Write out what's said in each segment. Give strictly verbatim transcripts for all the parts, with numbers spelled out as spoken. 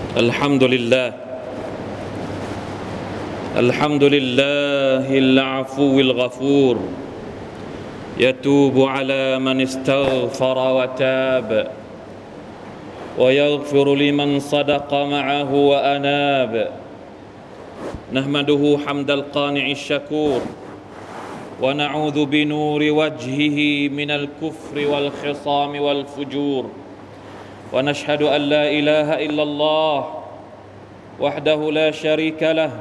الحمد لله الحمد لله العفو الغفور يتوب على من استغفر وتاب ويغفر لمن صدق معه وأناب نحمده حمد القانع الشكور ونعوذ بنور وجهه من الكفر والخصام والفجور ونشهد أن لا إله إلا الله وحده لا شريك له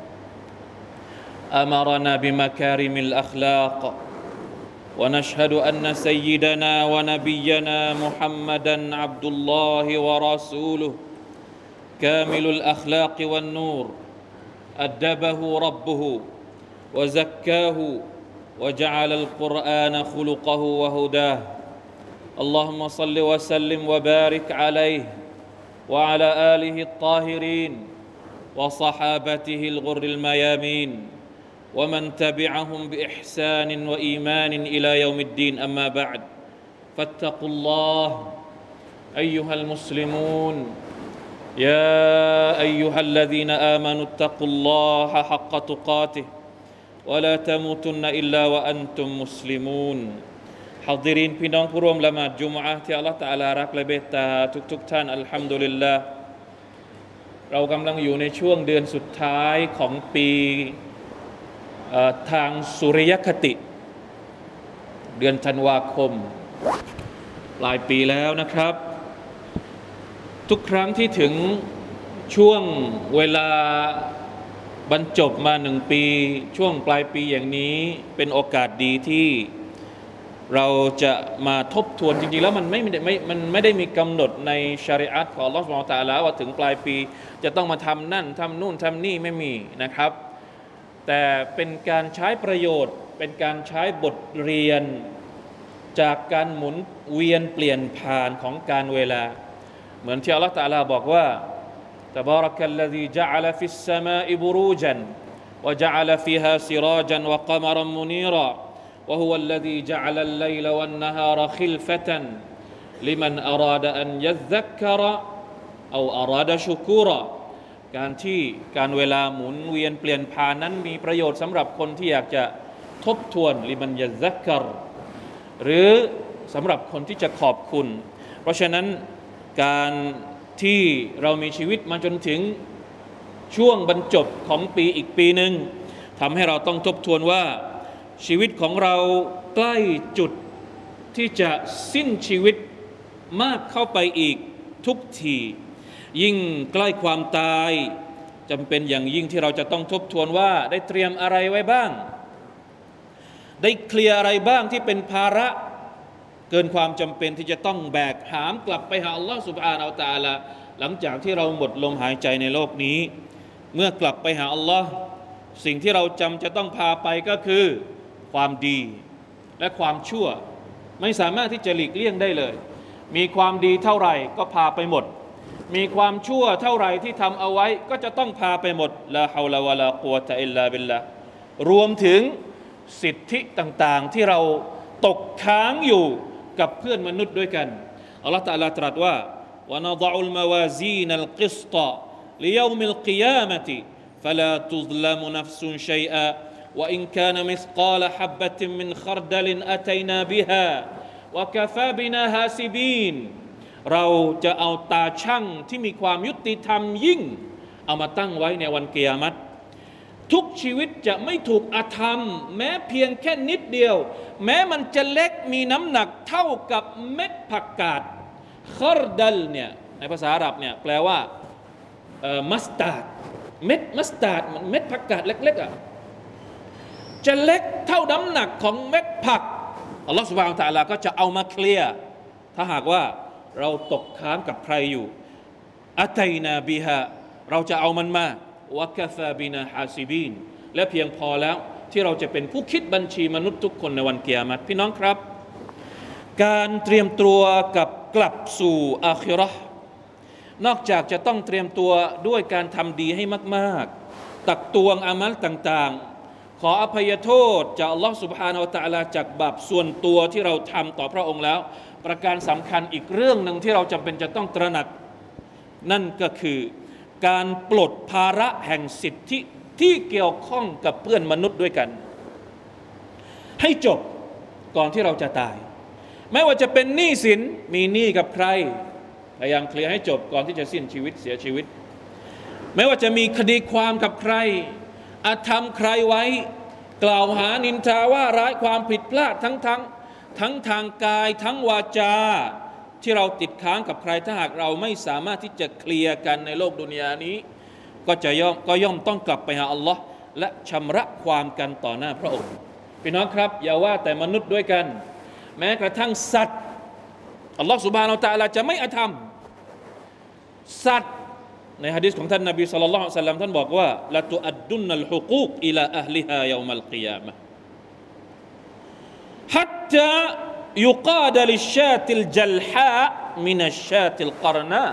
أمرنا بمكارم الأخلاق ونشهد أن سيدنا ونبينا محمدًا عبد الله ورسوله كامل الأخلاق والنور أدبه ربه وزكاه وجعل القرآن خلقه وهداه اللهم صل وسلم وبارك عليه وعلى آله الطاهرين وصحابته الغر الميامين ومن تبعهم بإحسان وإيمان إلى يوم الدين أما بعد فاتقوا الله أيها المسلمون يا أيها الذين آمنوا اتقوا الله حق تقاته ولا تموتن إلا وأنتم مسلمون حاضرين พี่น้องผู้ร่วมละหมาดจุมอะห์ที่อัลเลาะห์ตะอาลารักและเมตตาทุกๆท่านอัลฮัมดุลิลลาห์เรากำลังอยู่ในช่วงเดือนสุดท้ายของปีทางสุริยคติเดือนธันวาคมปลายปีแล้วนะครับทุกครั้งที่ถึงช่วงเวลาบรรจบมาหนึ่งปีช่วงปลายปีอย่างนี้เป็นโอกาสดีที่เราจะมาทบทวนจริงๆแล้วมันไม่ไม่มันไม่ได้มีกำหนดในชะรีอะห์ของอัลเลาะห์ซุบฮานะฮูวะตะอาลาว่าถึงปลายปีจะต้องมาทำนั่นทำนู่นทำนี่ไม่มีนะครับแต่เป็นการใช้ประโยชน์เป็นการใช้บทเรียนจากการหมุนเวียนเปลี่ยนผ่านของการเวลาเหมือนที่อัลเลาะห์ตะอาลาบอกว่าตะบารักัลลซีจะอะละฟิสสมาอิบุรูจันวะจะอะละฟิฮาซิราจันวะกะมะรัมมุนีราวะฮุวัลลซีจะอะลัลไลลวันนะฮารคิลฟะตันลิมันอะราดะอันยัซซักกะรอเอาอะราดะชุกูรอการที่การเวลาหมุนเวียนเปลี่ยนผ่านนั้นมีประโยชน์สำหรับคนที่อยากจะทบทวนลิมันยัซซักกะรหรือสำหรับคนที่จะขอบคุณเพราะฉะนั้นการที่เรามีชีวิตมาจนถึงช่วงบรรจบของปีอีกปีหนึ่งทำให้เราต้องทบทวนว่าชีวิตของเราใกล้จุดที่จะสิ้นชีวิตมากเข้าไปอีกทุกทียิ่งใกล้ความตายจำเป็นอย่างยิ่งที่เราจะต้องทบทวนว่าได้เตรียมอะไรไว้บ้างได้เคลียร์อะไรบ้างที่เป็นภาระเกินความจำเป็นที่จะต้องแบกหามกลับไปหาอัลลอฮฺซุบฮานะฮูวะตะอาลาหลังจากที่เราหมดลมหายใจในโลกนี้เมื่อกลับไปหาอัลลอฮฺสิ่งที่เราจำจะต้องพาไปก็คือความดีและความชั่วไม่สามารถที่จะหลีกเลี่ยงได้เลยมีความดีเท่าไหร่ก็พาไปหมดมีความชั่วเท่าไหร่ที่ทำเอาไว้ก็จะต้องพาไปหมดลาฮาวลาวะลากุวะตะอิลลาบิลลาห์รวมถึงสิทธิต่างๆที่เราตกค้างอยู่กับเพื่อนมนุษย์ด้วยกันอัลเลาะห์ตะอาลาตรัสว่าวะนะฎออุลมะวาซีนัลกิสตะลิยอมิลกิยามะติฟะลาตุซละมุนัฟซุนชัยอะวะอินกานะมิสกาลฮับบะตินมินคัรดลินอะตัยนาบิฮาวะกะฟาบินาฮาซิบีนเราจะเอาตาชั่งที่มีความยุติธรรมยิ่งเอามาตั้งไว้ในวันกิยามะฮ์ทุกชีวิตจะไม่ถูกอาธรรมแม้เพียงแค่นิดเดียวแม้มันจะเล็กมีน้ำหนักเท่ากับเม็ดผักกาดคอรดัลเนี่ยในภาษาอาหรับเนี่ยแปลว่าเอ่อมัสตาร์ดเม็ดมัสตาร์ดมันเม็ดผักกาดเล็กๆอ่ะจะเล็กเท่าน้ำหนักของเม็ดผักอัลลอฮฺซุบฮานะฮูวะตะอาลาก็จะเอามาเคลียร์ถ้าหากว่าเราตกค้างกับใครอยู่อะตัยนาบิฮาเราจะเอามันมาวะกะฟาบินาฮาซิบีนและเพียงพอแล้วที่เราจะเป็นผู้คิดบัญชีมนุษย์ทุกคนในวันกิยามะฮ์พี่น้องครับการเตรียมตัวกับกลับสู่อาคิเราะห์นอกจากจะต้องเตรียมตัวด้วยการทำดีให้มากๆตักตวงอามัลต่างๆขออภัยโทษจากอัลลอฮฺซุบฮานะฮูวะตะอาลาจากบาปส่วนตัวที่เราทำต่อพระองค์แล้วประการสำคัญอีกเรื่องหนึ่งที่เราจำเป็นจะต้องตระหนักนั่นก็คือการปลดภาระแห่งสิทธิที่เกี่ยวข้องกับเพื่อนมนุษย์ด้วยกันให้จบก่อนที่เราจะตายไม่ว่าจะเป็นหนี้สินมีหนี้กับใครพยายามเคลียร์ให้จบก่อนที่จะสิ้นชีวิตเสียชีวิตไม่ว่าจะมีคดีความกับใครอาธรรมใครไว้กล่าวหานินทาว่าร้ายความผิดพลาดทั้งทั้งทั้งทางกายทั้งวาจาที่เราติดค้างกับใครถ้าหากเราไม่สามารถที่จะเคลียร์กันในโลกดุนยานี้ก็จะย่อมก็ย่อมต้องกลับไปหาอัลลอฮ์และชำระความกันต่อหน้าพระองค์พี่น้องครับอย่าว่าแต่มนุษย์ด้วยกันแม้กระทั่งสัตว์อัลลอฮ์ซุบฮานะฮูวะตะอาลาจะไม่อธรรมสัตว์ในหะดีษของท่านนบีศ็อลลัลลอฮุอะลัยฮิวะซัลลัมท่านบอกว่าละตุอัดดุนนัลฮุกูกอิลาอะฮลิฮายอมัลกิยามะฮ์ฮัตตายุกาดลิชชาติลจัลฮามินัชชาติลกรนา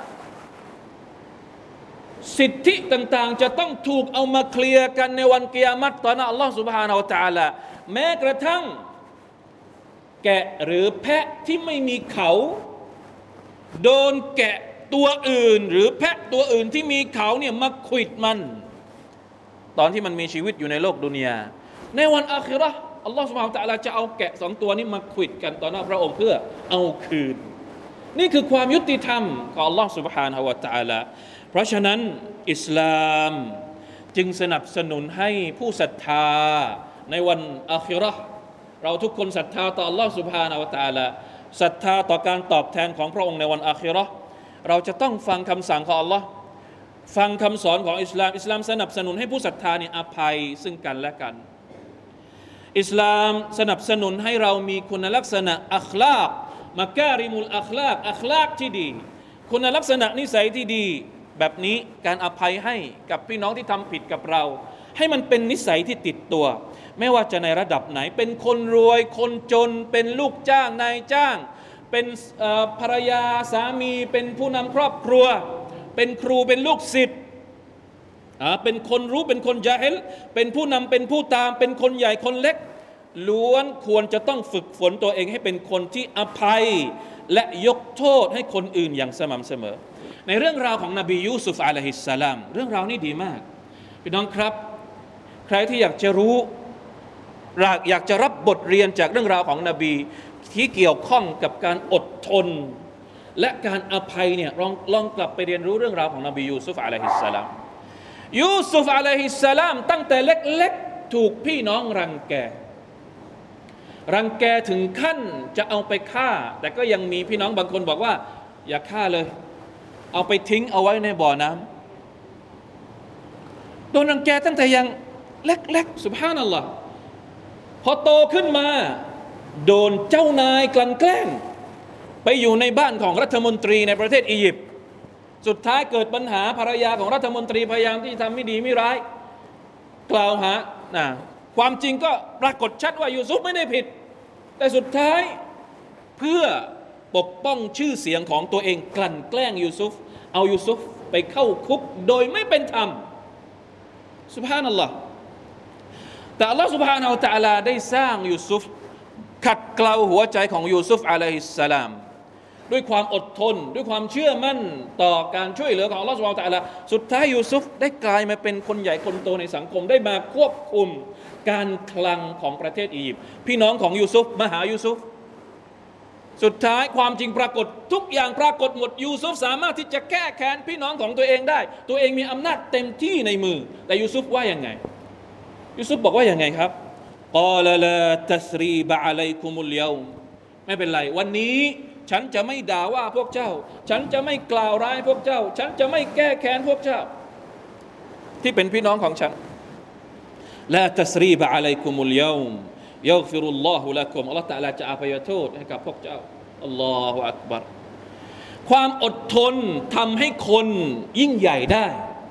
สิทธิต่างๆจะต้องถูกเอามาเคลียร์กันในวันกิยามัตต่อหน้าอัลลอฮ์ซุบฮานะฮูวะตะอาลาแม้กระทั่งแกะหรือแพะที่ไม่มีเขาโดนแกะตัวอื่นหรือแพะตัวอื่นที่มีเขาเนี่ยมาขวิดมันตอนที่มันมีชีวิตอยู่ในโลกดุนยาในวันอาคิเราะห์อัลลอฮฺซุบฮานะฮูวะตะอาลาจะเอาแกะสองตัวนี้มาขวิดกันต่อหน้าพระองค์เพื่อเอาคืนนี่คือความยุติธรรมของอัลลอฮฺซุบฮานะฮูวะตะอาลาเพราะฉะนั้นอิสลามจึงสนับสนุนให้ผู้ศรัทธาในวันอาคิเราะห์เราทุกคนศรัทธาต่ออัลลอฮฺซุบฮานะฮูวะตะอาลาศรัทธาต่อการตอบแทนของพระองค์ในวันอาคิเราะห์เราจะต้องฟังคำสั่งของอัลลอฮ์ฟังคำสอนของอิสลามอิสลามสนับสนุนให้ผู้ศรัทธาเนี่ยอภัยซึ่งกันและกันอิสลามสนับสนุนให้เรามีคุณลักษณะอัคลากมักการิมุลอัคลากอัคลากที่ดีคุณลักษณะนิสัยที่ดีแบบนี้การอภัยให้กับพี่น้องที่ทำผิดกับเราให้มันเป็นนิสัยที่ติดตัวไม่ว่าจะในระดับไหนเป็นคนรวยคนจนเป็นลูกจ้างนายจ้างเป็นภรรยาสามีเป็นผู้นำครอบครัวเป็นครูเป็นลูกศิษย์เป็นคนรู้เป็นคนญาฮิลเป็นผู้นำเป็นผู้ตามเป็นคนใหญ่คนเล็กล้วนควรจะต้องฝึกฝนตัวเองให้เป็นคนที่อภัยและยกโทษให้คนอื่นอย่างสม่ำเสมอในเรื่องราวของนบียูซุฟอะลัยฮิสสลามเรื่องราวนี้ดีมากพี่น้องครับใครที่อยากจะรู้อยากจะรับบทเรียนจากเรื่องราวของนบีที่เกี่ยวข้องกับการอดทนและการอภัยเนี่ยลองลองกลับไปเรียนรู้เรื่องราวของนบียูซุฟอะลัยฮิสสลามยูซุฟอะลัยฮิสสลามตั้งแต่เล็กๆถูกพี่น้องรังแกรังแกถึงขั้นจะเอาไปฆ่าแต่ก็ยังมีพี่น้องบางคนบอกว่าอย่าฆ่าเลยเอาไปทิ้งเอาไว้ในบ่อน้ำโดนรังแกตั้งแต่ยังเล็กๆซุบฮานัลลอฮ์พอโตขึ้นมาโดนเจ้านายกลั่นแกล้งไปอยู่ในบ้านของรัฐมนตรีในประเทศอียิปต์สุดท้ายเกิดปัญหาภรรยาของรัฐมนตรีพยายามที่จะทำไม่ดีไม่ร้ายกล่าวหานะความจริงก็ปรากฏชัดว่ายูซุฟไม่ได้ผิดแต่สุดท้ายเพื่อปกป้องชื่อเสียงของตัวเองกลั่นแกล้งยูซุฟเอายูซุฟไปเข้าคุกโดยไม่เป็นธรรมซุบฮานัลลอฮ์แต่อัลลอฮ์ซุบฮานะฮูวะตะอาลาได้สร้างยูซุฟขัดเกลาหัวใจของยูซุฟอะลัยฮิสสลามด้วยความอดทนด้วยความเชื่อมั่นต่อการช่วยเหลือของอัลลอฮฺซุบฮานะฮูวะตะอาลาสุดท้ายยูซุฟได้กลายมาเป็นคนใหญ่คนโตในสังคมได้มาควบคุมการคลังของประเทศอียิปต์พี่น้องของยูซุฟมาหายูซุฟสุดท้ายความจริงปรากฏทุกอย่างปรากฏหมดยูซุฟสามารถที่จะแก้แค้นพี่น้องของตัวเองได้ตัวเองมีอำนาจเต็มที่ในมือแต่ยูซุฟว่ายังไงยูซุฟบอกว่ายังไงครับกอลาลาตัสรีบะอะลัยกุมุลยอมไม่เป็นไรวันนี้ฉันจะไม่ด่าว่าพวกเจ้าฉันจะไม่กล่าวร้ายพวกเจ้าฉันจะไม่แก้แค้นพวกเจ้าที่เป็นพี่น้องของฉันลาตัสรีบะอะลัยกุมุลยอมยัฆฟิรุลลอฮุละกุมอัลเลาะห์ตะอาลาจะอภัยโทษให้กับพวกเจ้าอัลลอฮุอักบัรความอดทนทำให้คนยิ่งใหญ่ได้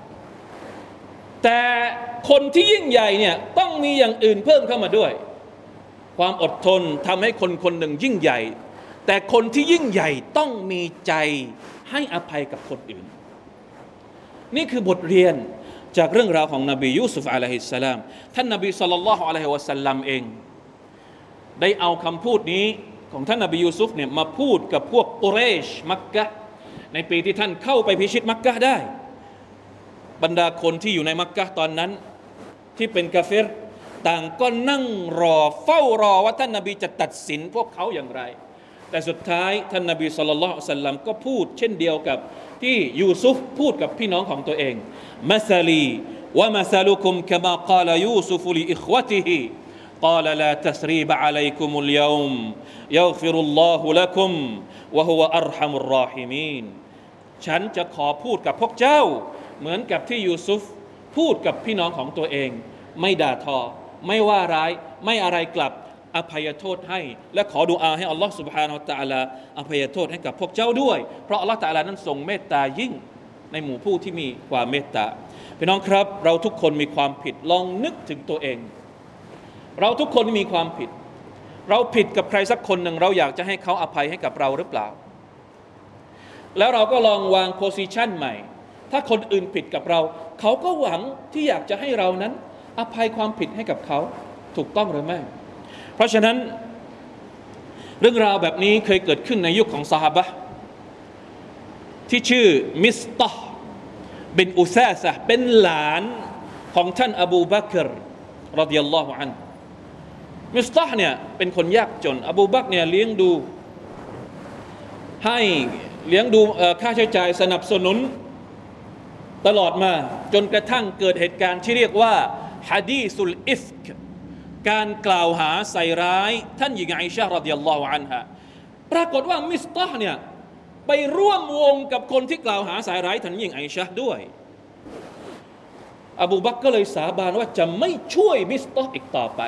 แต่คนที่ยิ่งใหญ่เนี่ยต้องมีอย่างอื่นเพิ่มเข้ามาด้วยความอดทนทำให้คนคนหนึ่งยิ่งใหญ่แต่คนที่ยิ่งใหญ่ต้องมีใจให้อภัยกับคนอื่นนี่คือบทเรียนจากเรื่องราวของนบียูซุฟอะลัยฮิสสลามท่านนบีศ็อลลัลลอฮุอะลัยฮิวะซัลลัมเองได้เอาคำพูดนี้ของท่านนบียูซุฟเนี่ยมาพูดกับพวกกุเรชมักกะฮ์ในปีที่ท่านเข้าไปพิชิตมักกะฮ์ได้บรรดาคนที่อยู่ในมักกะฮ์ตอนนั้นที่เป็นกาเฟรต่างก็นั่งรอเฝ้ารอว่าท่านนบีจะตัดสินพวกเขาอย่างไรแต่สุดท้ายท่านนบีศ็อลลัลลอฮุอะลัยฮิวะซัลลัมก็พูดเช่นเดียวกับที่ยูซุฟพูดกับพี่น้องของตัวเองมัสลีวะมัสลุคุมกะมากาลยูซุฟลิอิควะติฮิقال لا تثريب عليكم اليوم يغفر الله لكم وهو أرحم الراحمين ฉันจะขอพูดกับพวกเจ้าเหมือนกับที่ยูซุฟพูดกับพี่น้องของตัวเองไม่ด่าทอไม่ว่าร้ายไม่อะไรกลับอภัยโทษให้และขอดุอาให้อัลลอฮฺ سبحانه และ تعالى อภัยโทษให้กับพวกเจ้าด้วยเพราะอัลลอฮฺ تعالى นั้นทรงเมตตายิ่งในหมู่ผู้ที่มีความเมตตาพี่น้องครับเราทุกคนมีความผิดลองนึกถึงตัวเองเราทุกคนมีความผิดเราผิดกับใครสักคนหนึ่งเราอยากจะให้เขาอภัยให้กับเราหรือเปล่าแล้วเราก็ลองวางโพสิชันใหม่ถ้าคนอื่นผิดกับเราเขาก็หวังที่อยากจะให้เรานั้นอภัยความผิดให้กับเขาถูกต้องหรือไม่เพราะฉะนั้นเรื่องราวแบบนี้เคยเกิดขึ้นในยุคของซอฮาบะห์ที่ชื่อมิสตะห์บินอุซาซะห์เป็นหลานของท่านอบูบักรรอฎิยัลลอฮุอันฮุมิสตะห์เนี่ยเป็นคนยากจนอบูบักรเนี่ยเลี้ยงดูให้เลี้ยงดูค่าใช้จ่ายสนับสนุนตลอดมาจนกระทั่งเกิดเหตุการณ์ที่เรียกว่าฮะดีซุลอิฟกการกล่าวหาใส่ร้ายท่านหญิงอิชะฮ์รอฎิยัลลอฮุอันฮาปรากฏว่ามิสตะห์เนี่ยไปร่วมวงกับคนที่กล่าวหาใส่ร้ายท่านหญิงอิชะฮ์ด้วยอบูบักรก็เลยสาบานว่าจะไม่ช่วยมิสตะห์อีกต่อไป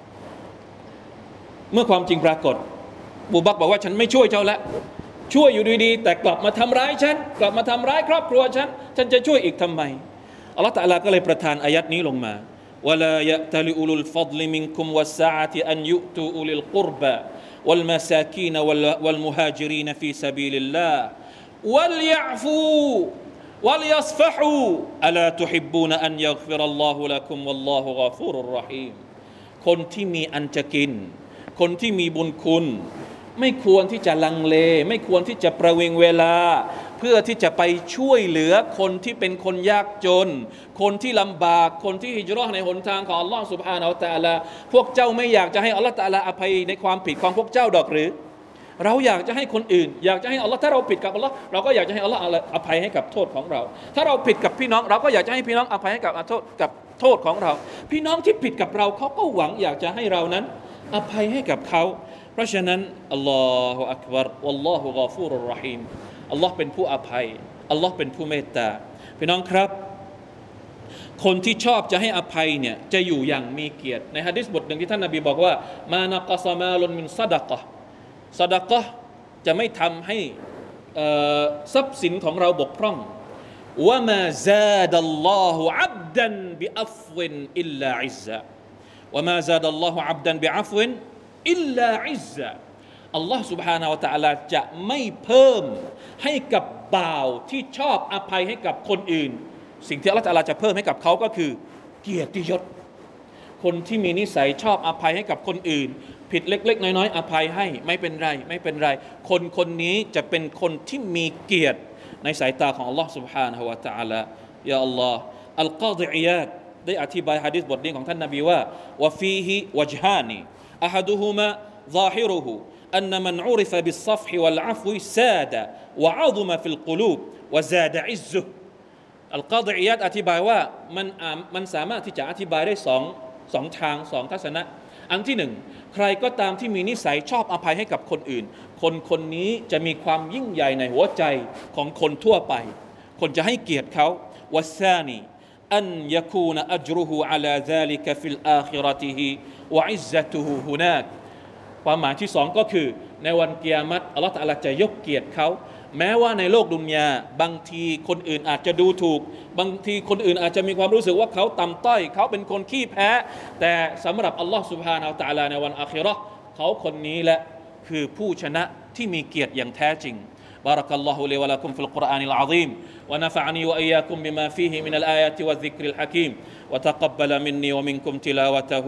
เมื่อความจริงปรากฏอบูบักรบอกว่าฉันไม่ช่วยเจ้าแล้วช่วยอยู่ดีๆแต่กลับมาทำร้ายฉันกลับมาทำร้ายครอบครัวฉันฉันจะช่วยอีกทำไมอัลลอฮฺตะอาลาก็เลยประทานอายัดนี้ลงมาวะลายะตะลิอุลุลฟัฎลิมินกุมวัสซะอะติอันยุตูอุลิลกุรบะวัลมะซากีนวัลมุฮาญิรีนฟีซะบีลิลลาฮ์วัลยะอฟูวัลยัศฟะฮูอะลาตุฮิบบูนอันยัฆฟิรัลลอฮุละกุมวัลลอฮุฆอฟูรุรเราะฮีมคนที่มีอันจะกินคนที่มีบุญคุณไม่ควรที่จะลังเลไม่ควรที่จะประวิงเวลาเพื่อที่จะไปช่วยเหลือคนที่เป็นคนยากจนคนที่ลำบากคนที่ฮิจเราะห์ในหนทางของอัลลอฮฺซุบฮานะฮูวะตะอาลาพวกเจ้าไม่อยากจะให้อัลลอฮฺตะอาลาอภัยในความผิดของพวกเจ้าดอกหรือเราอยากจะให้คนอื่นอยากจะให้อัลลอฮฺถ้าเราผิดกับอัลลอฮฺเราก็อยากจะให้อัลลอฮฺอภัยให้กับโทษของเราถ้าเราผิดกับพี่น้องเราก็อยากจะให้พี่น้องอภัยให้กับโทษกับโทษของเราพี่น้องที่ผิดกับเราเขาก็หวังอยากจะให้เรานั้นอภัยให้กับเขาเพราะฉะนั้นอัลลอฮฺอักบัรวัลลอฮุฆอฟูรุรเราะฮีมอัลลอฮ์เป็นผู้อภัยอัลลอฮ์เป็นผู้เมตตาพี่น้องครับคนที่ชอบจะให้อภัยเนี่ยจะอยู่อย่างมีเกียรติในหะดีษบทหนึ่งที่ท่านนบีบอกว่ามานะกะซะมาลุนมินซะดะกะฮ์ซะดะกะฮ์จะไม่ทำให้ทรัพย์สินของเราบกพร่องวะมาซาดัลลอฮุอับดันบิอัฟวินอิลลาอิซซะวะมาซาดัลลอฮุอับดันบิอัฟวินอิลลาอิซซะอัลลอฮ์ سبحانه และ تعالى จะไม่เพิ่มให้กับบ่าวที่ชอบอภัยให้กับคนอื่นสิ่งที่อัลลอฮ์ تعالى จะเพิ่มให้กับเขาก็คือเกียรติยศคนที่มีนิสัยชอบอภัยให้กับคนอื่นผิดเล็กๆน้อยๆอภัยให้ไม่เป็นไรไม่เป็นไรคนคนนี้จะเป็นคนที่มีเกียรติในสายตาของอัลลอฮ์ سبحانه และ تعالى ยาอัลลอฮ์อัลกอฎิอิยาดได้อธิบายหะดีษบทนี้ของท่านนบีว่าวะฟีฮิวัจฮานีอะฮัดุฮุมะظاهره أن من عرف بالصفح والعفو ساد وعظم في القلوب وزاد عزه อัลกอฎิอิยาดอธิบายว่ามันมันสามารถที่จะอธิบายได้สองสองทางสองทัศนะอันที่หนึ่งใครก็ตามที่มีนิสัยชอบอภัยให้กับคนอื่นคนคนนี้จะมีความยิ่งใหญ่ในหัวใจของคนทั่วไปคนจะให้เกียรติเขาวัสซานีอันยะคูนอัจรุฮุอะลาซาลิกะฟิลอาคิเราะติฮิวะอิซซะตุฮุฮุนากความหมายที่สองก็คือในวันกิยามัตอัลเลาะห์ตะอาลาจะยกเกียรติเขาแม้ว่าในโลกดุนยาบางทีคนอื่นอาจจะดูถูกบางทีคนอื่นอาจจะมีความรู้สึกว่าเขาต่ำต้อยเขาเป็นคนขี้แพ้แต่สำหรับอัลลอฮ์ซุบฮานะฮูวะตะอาลาในวันอาคิเราะห์เขาคนนี้แหละคือผู้ชนะที่มีเกียรติอย่างแท้จริงبارك الله لي ولكم في القرآن العظيم ونفعني وإياكم بما فيه من الآيات والذكر الحكيم وتقبل مني ومنكم تلاوته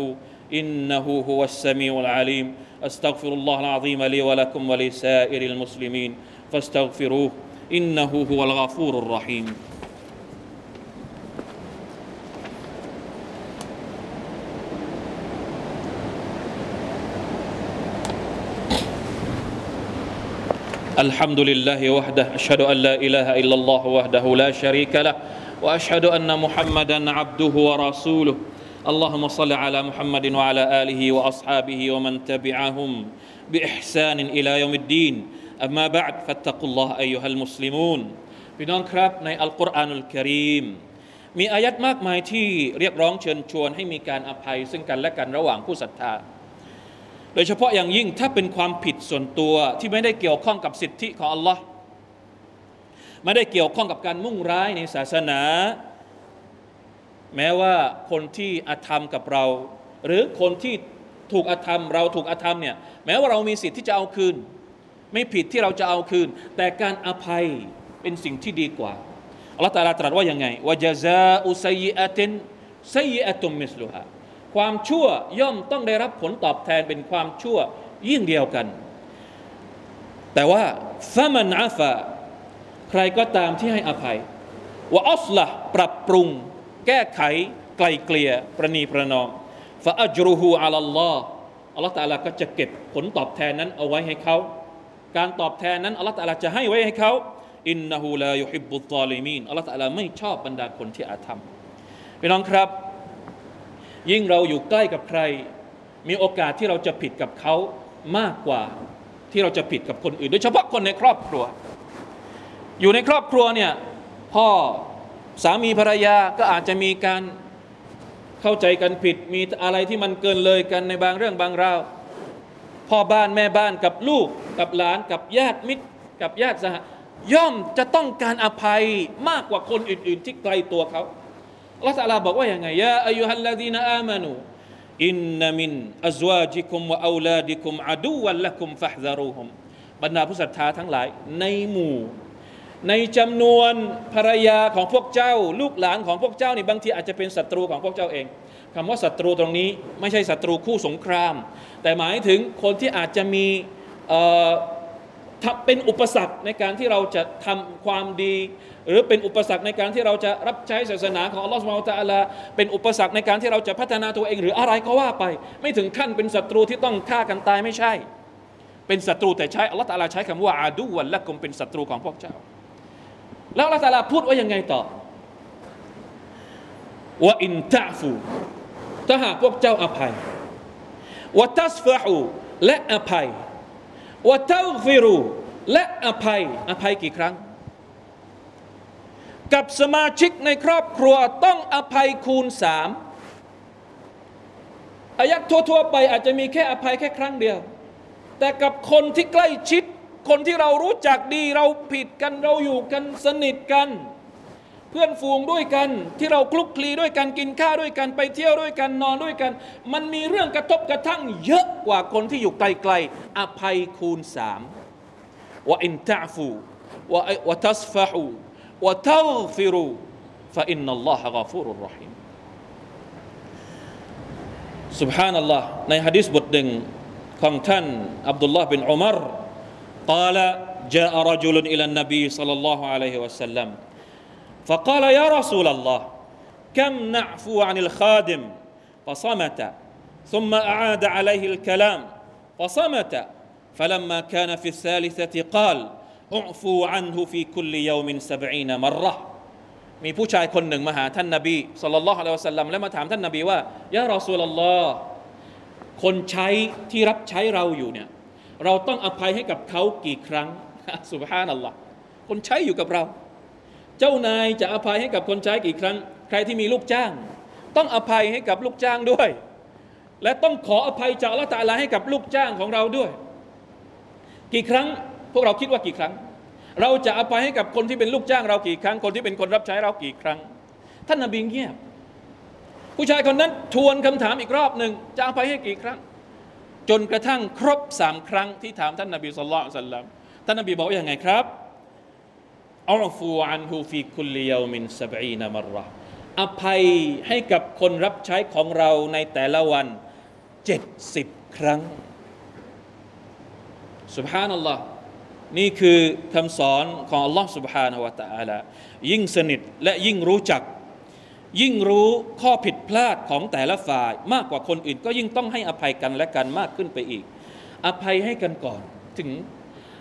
إنه هو السميع العليم أستغفر الله العظيم لي ولكم ولسائر المسلمين فاستغفروه إنه هو الغفور الرحيم الحمد لله وحده أشهد أن لا إله إلا الله وحده لا شريك له وأشهد أن محمدا عبده ورسوله اللهم صل على محمد وعلى آله وأصحابه ومن تبعهم بإحسان إلى يوم الدين أما بعد فاتقوا الله أيها المسلمون พี่น้องครับในอัลกุรอานุลกะรีมมีอายัดมากมายที่เรียกร้องเชิญชวนให้มีการอภัยซึ่งกันและกันระหว่างผู้ศรัทธาโดยเฉพาะอย่างยิ่งถ้าเป็นความผิดส่วนตัวที่ไม่ได้เกี่ยวข้องกับสิทธิของอัลลอฮ์ไม่ได้เกี่ยวข้องกับการมุ่งร้ายในศาสนาแม้ว่าคนที่อาธรรมกับเราหรือคนที่ถูกอาธรรมเราถูกอาธรรมเนี่ยแม้ว่าเรามีสิทธิ์ที่จะเอาคืนไม่ผิดที่เราจะเอาคืนแต่การอภัยเป็นสิ่งที่ดีกว่าอัลเลาะห์ตะอาลาตรัสว่ายังไงวะญะซาอุซัยยิอะตินซัยยิอะตุมมิสลุฮาความชั่วย่อมต้องได้รับผลตอบแทนเป็นความชั่วยิ่งเดียวกันแต่ว่าฟะมันอาฟาใครก็ตามที่ให้อภัยวะอัศละห์ปรับปรุงแก้ไขไกลเกลี่ยประนีประนอมฟะอัจรุฮูอะลัลลอฮ์อัลเลาะห์ตะอาลาก็จะเก็บผลตอบแทนนั้นเอาไว้ให้เขาการตอบแทนนั้นอัลเลาะห์ตะอาลาจะให้ไว้ให้เขาอินนะฮูลายุฮิบบุซซอลิมีนอัลเลาะห์ตะอาลาไม่ชอบบรรดาคนที่อาธรรมพี่น้องครับยิ่งเราอยู่ใกล้กับใครมีโอกาสที่เราจะผิดกับเขามากกว่าที่เราจะผิดกับคนอื่นโดยเฉพาะคนในครอบครัวอยู่ในครอบครัวเนี่ยพ่อสามีภรรยาก็อาจจะมีการเข้าใจกันผิดมีอะไรที่มันเกินเลยกันในบางเรื่องบางราวพ่อบ้านแม่บ้านกับลูกกับหลานกับญาติมิตรกับญาติสหย่อมจะต้องการอภัยมากกว่าคนอื่นๆที่ไกลตัวเขาอัลเลาะห์ตะอาลาบอกว่าอย่างไงยาอัยยูฮัลลซีนาอามานูอินนะมินอัซวาจิกุมวะเอาลาดิกุมอะดูวัลละกุมฟะฮซารูฮุมบรรดาผู้ศรัทธาทั้งหลายในหมู่ในจำนวนภรรยาของพวกเจ้าลูกหลานของพวกเจ้านี่บางทีอาจจะเป็นศัตรูของพวกเจ้าเองคำว่าศัตรูตรงนี้ไม่ใช่ศัตรูคู่สงครามแต่หมายถึงคนที่อาจจะมีเอ่อเป็นอุปสรรคในการที่เราจะทำความดีหรือเป็นอุปสรรคในการที่เราจะรับใช้ศาสนาของอัลลอฮฺซุบฮานะฮูวะตะอาลาเป็นอุปสรรคในการที่เราจะพัฒนาตัวเองหรืออะไรก็ว่าไปไม่ถึงขั้นเป็นศัตรูที่ต้องฆ่ากันตายไม่ใช่เป็นศัตรูแต่ใช้อัลลอฮฺตะอาลาใช้คำว่าอาดูวัลละกุมเป็นศัตรูของพวกเจ้าแล้วอัลลอฮฺตะอาลาพูดว่ายังไงต่อวะอินตะฟูถ้าหากพวกเจ้าอภัยวะตัสฟะฮูและอภัยวะตัฆฟิรูและอภัยอภัยกี่ครั้งกับสมาชิกในครอบครัวต้องอภัยคูณสามอายัดทั่วๆไปอาจจะมีแค่อภัยแค่ครั้งเดียวแต่กับคนที่ใกล้ชิดคนที่เรารู้จักดีเราผิดกันเราอยู่กันสนิทกันเพื่อนฝูงด้วยกันที่เราคลุกคลีด้วยกันกินข้าวด้วยกันไปเที่ยวด้วยกันนอนด้วยกันมันมีเรื่องกระทบกระทั่งเยอะกว่าคนที่อยู่ไกลๆอภัยคูณสามวะอินตะฟูวะวะตัสฟะฮูวะตัฆฟิรูฟะอินนัลลอฮะฆอฟูรุรเราะฮีมซุบฮานัลลอฮ์ในหะดีษบทหนึ่งของท่านอับดุลลอฮ์บินอุมัร قال جاء رجل إلى النبي صلى الله عليه وسلم فقال يا رسول الله كم نعفو عن الخادم فصمت ثم أعاد عليه الكلام فصمت فلما كان في الثالثة قال اعفوا عنه في كل يوم سبعين مرة มีผู้ชายคนหนึ่งมาหาท่านนบีศ็อลลัลลอฮุอะลัยฮิวะซัลลัมและมาถามท่านนบีว่ายารอซูลัลลอฮ์คนใช้ที่รับใช้เราอยู่เนี่ยเราต้องอภัยให้กับเขากี่ครั้งซุบฮานัลลอฮ์คนใช้อยู่กับเราเจ้านายจะอภัยให้กับคนใช้กี่ครั้งใครที่มีลูกจ้างต้องอภัยให้กับลูกจ้างด้วยและต้องขออภัยจากอัลเลาะห์ตะอาลาให้กับลูกจ้างของเราด้วยกี่ครั้งพวกเราคิดว่ากี่ครั้งเราจะอภัยให้กับคนที่เป็นลูกจ้างเรากี่ครั้งคนที่เป็นคนรับใช้เรากี่ครั้งท่านนบีเงียบผู้ชายคนนั้นทวนคำถามอีกรอบหนึ่งจะอภัยให้กี่ครั้งจนกระทั่งครบสามครั้งที่ถามท่านนบีศ็อลลัลลอฮุอะลัยฮิวะซัลลัมท่านนบีบอกว่าอย่างไงครับอัลฟูอันฮูฟีคุลลิยอมินซะบอีนะมัรเราะห์อภัยให้กับคนรับใช้ของเราในแต่ละวันเจ็ดสิบครั้งซุบฮานัลลอฮ์นี่คือคำสอนของอัลลอฮ์ سبحانه และ تعالى ยิ่งสนิทและยิ่งรู้จักยิ่งรู้ข้อผิดพลาดของแต่ละฝ่ายมากกว่าคนอื่นก็ยิ่งต้องให้อภัยกันและกันมากขึ้นไปอีกอภัยให้กันก่อนถึง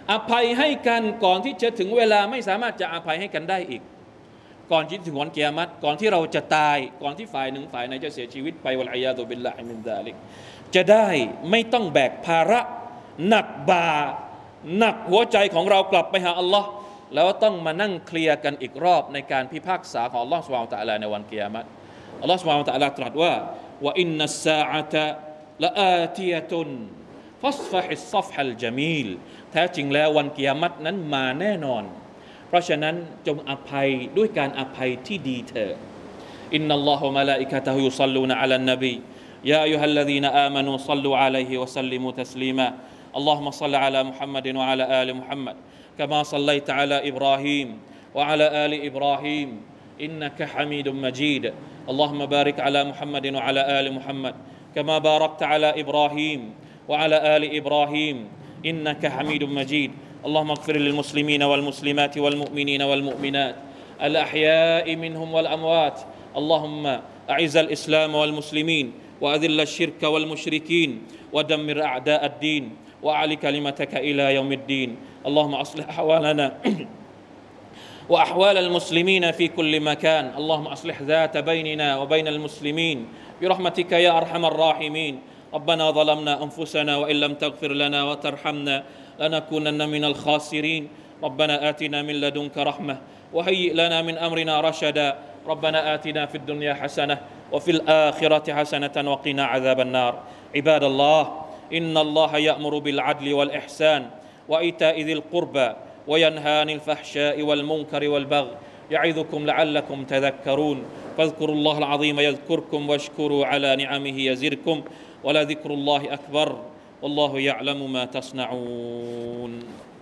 อภัยให้กันก่อนที่จะถึงเวลาไม่สามารถจะอภัยให้กันได้อีกก่อนที่ถึงวันกิยามะฮ์ก่อนที่เราจะตายก่อนที่ฝ่ายหนึ่งฝ่ายไหนจะเสียชีวิตไปวัลอียาตุบิลลาฮิมินซาลิกจะได้ไม่ต้องแบกภาระหนักบ่าหนักหัวใจของเรากลับไปหาอัลลอฮ์แล้วต้องมานั่งเคลียร์กันอีกรอบในการพิพากษาของอัลลอฮ์ซุบฮานะฮูวะตะอาลาในวันกิยามะฮ์อัลลอฮ์ซุบฮานะฮูวะตะอาลาตรัสว่าวะอินนัสซาอะตะละอาติยะตุนฟัสฟะฮิสซัฟฮัลญะมีลแท้จริงแล้ววันกิยามะฮ์นั้นมาแน่นอนเพราะฉะนั้นจงอภัยด้วยการอภัยที่ดีเถิดอินนัลลอฮุมะลาอิกะตะฮุยุศ็อลลูนะอะลันนบียาอัยยูฮัลลซีนาอามานูศ็อลลูอะลัยฮิวะซัลลิมูตัสลีมาอัลลอฮุมะศ็อลลิอะลามุฮัมมัดวะอะลาอาลิมุฮัมมัดกะมาศ็อลลัยตะอะลาอิบรอฮีมวะอะลาอาลิอิบรอฮีมอินนะกะฮะมีดุมมะญีดอัลลอฮุมะบาริกอะลามุฮัมมัดวะอะลาอาลิมุฮัมมัดกะมาบารักตะอะลาอิบรอฮีมวะอะลาอาลิอิบรอฮีมอินนะกะฮะมีดุมมะญีดاللهم اغفر للمسلمين والمسلمات والمؤمنين والمؤمنات الأحياء منهم والأموات اللهم أعز الإسلام والمسلمين وأذل الشرك والمشركين ودمر أعداء الدين وأعل كلمتك إلى يوم الدين اللهم أصلح أحوالنا وأحوال المسلمين في كل مكان اللهم أصلح ذات بيننا وبين المسلمين برحمتك يا أرحم الراحمين ربنا ظلمنا أنفسنا وإن لم تغفر لنا وترحمنا لنكونن من الخاسرين ربنا آتنا من لدنك رحمة وهيئ لنا من أمرنا رشدا ربنا آتنا في الدنيا حسنة وفي الآخرة حسنة وقنا عذاب النار عباد الله إن الله يأمر بالعدل والإحسان وإيتاء ذي القربى وينهى عن الفحشاء والمنكر والبغي يعظكم لعلكم تذكرون فاذكروا الله العظيم يذكركم واشكروا على نعمه يزدكم ولذكر الله أكبر والله يعلم ما تصنعون